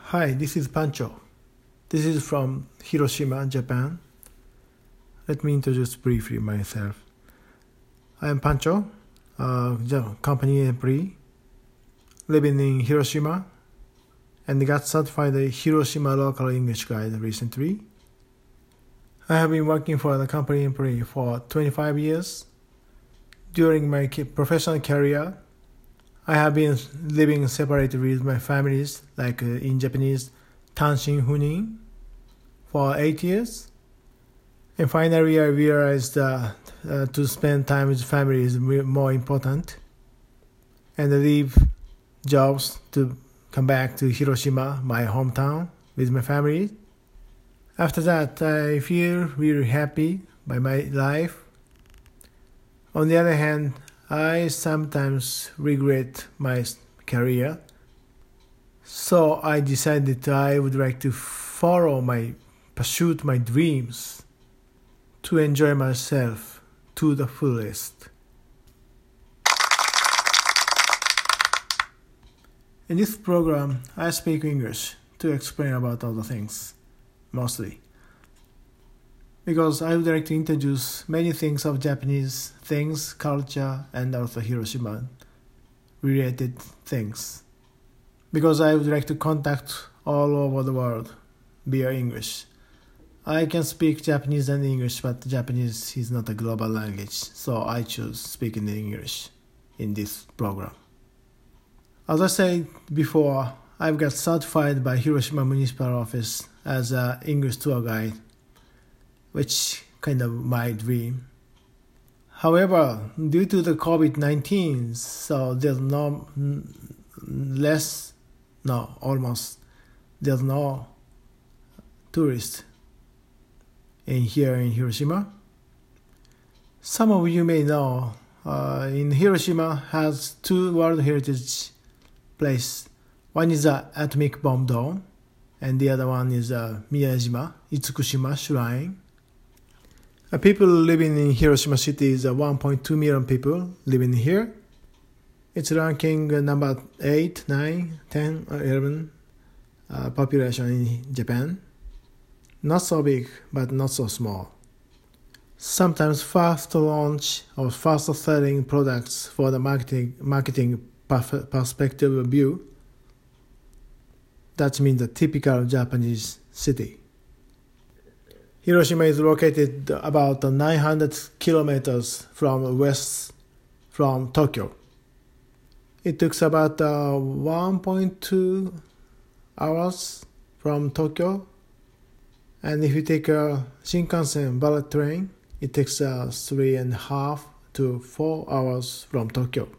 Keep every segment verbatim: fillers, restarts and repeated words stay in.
Hi, this is Pancho. This is from Hiroshima, Japan. Let me introduce briefly myself. I am Pancho, a company employee living in Hiroshima and got certified a Hiroshima local English guide recently. I have been working for the company employee for twenty-five years. During my professional career, I have been living separately with my families, like uh, in Japanese, Tanshin Funin, for eight years. And finally, I realized that uh, to spend time with family is more important, and I leave jobs to come back to Hiroshima, my hometown, with my family. After that, I feel really happy by my life. On the other hand, I sometimes regret my career, so I decided I would like to follow my, pursue my dreams, to enjoy myself to the fullest. In this program, I speak English to explain about other things, mostly. Because I would like to introduce many things of Japanese things, culture, and also Hiroshima related things. Because I would like to contact all over the world via English. I can speak Japanese and English, but Japanese is not a global language, so I choose speaking English in this program. As I said before, I've got certified by Hiroshima Municipal Office as an English tour guide, which kind of my dream. However, due to the covid nineteen, so there's no less, no, almost, there's no tourists in here in Hiroshima. Some of you may know, uh, in Hiroshima has two World Heritage places. One is the Atomic Bomb Dome, and the other one is uh, Miyajima, Itsukushima Shrine. Uh, people living in Hiroshima city is uh, one point two million people living here. It's ranking uh, number eight, nine, ten, or eleven uh, population in Japan. Not so big, but not so small. Sometimes fast launch or fast selling products for the marketing marketing perspective view. That means the typical Japanese city. Hiroshima is located about nine hundred kilometers from west from Tokyo. It took about uh, one point two hours from Tokyo. And if you take a Shinkansen bullet train, it takes uh, three and a half to four hours from Tokyo.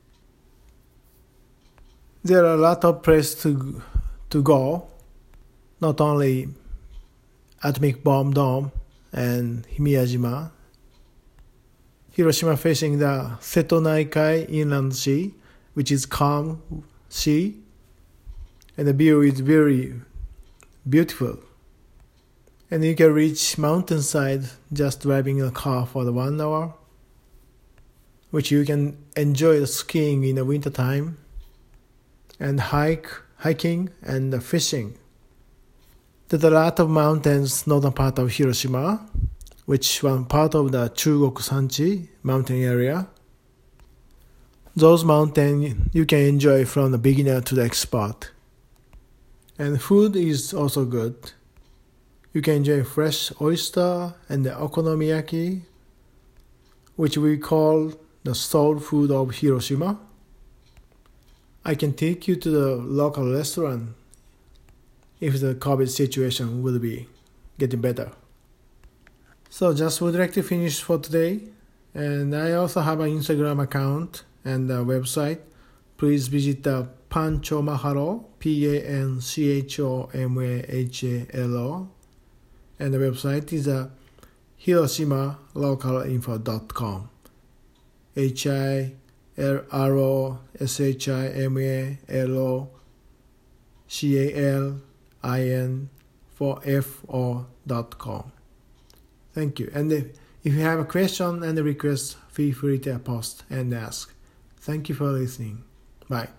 There are a lot of places to, to go, not only Atomic Bomb Dome and Miyajima. Hiroshima facing the Seto Naikai Inland Sea, which is calm sea, and the view is very beautiful. And you can reach mountainside just driving a car for the one hour, which you can enjoy the skiing in the winter time, and hike, hiking and fishing. There's a lot of mountains northern part of Hiroshima, which one part of the Chugoku Sanchi mountain area. Those mountains you can enjoy from the beginner to the expert. And food is also good. You can enjoy fresh oyster and the okonomiyaki, which we call the soul food of Hiroshima. I can take you to the local restaurant if the COVID situation will be getting better. So just would like to finish for today. And I also have an Instagram account and a website. Please visit the Pancho Mahalo, P A N C H O M A H A L O. And the website is uh, hiroshima local info dot com. H I R O S H I M A L O C A L I N for F O dot com. Thank you. And if, if you have a question and a request, feel free to post and ask. Thank you for listening. Bye.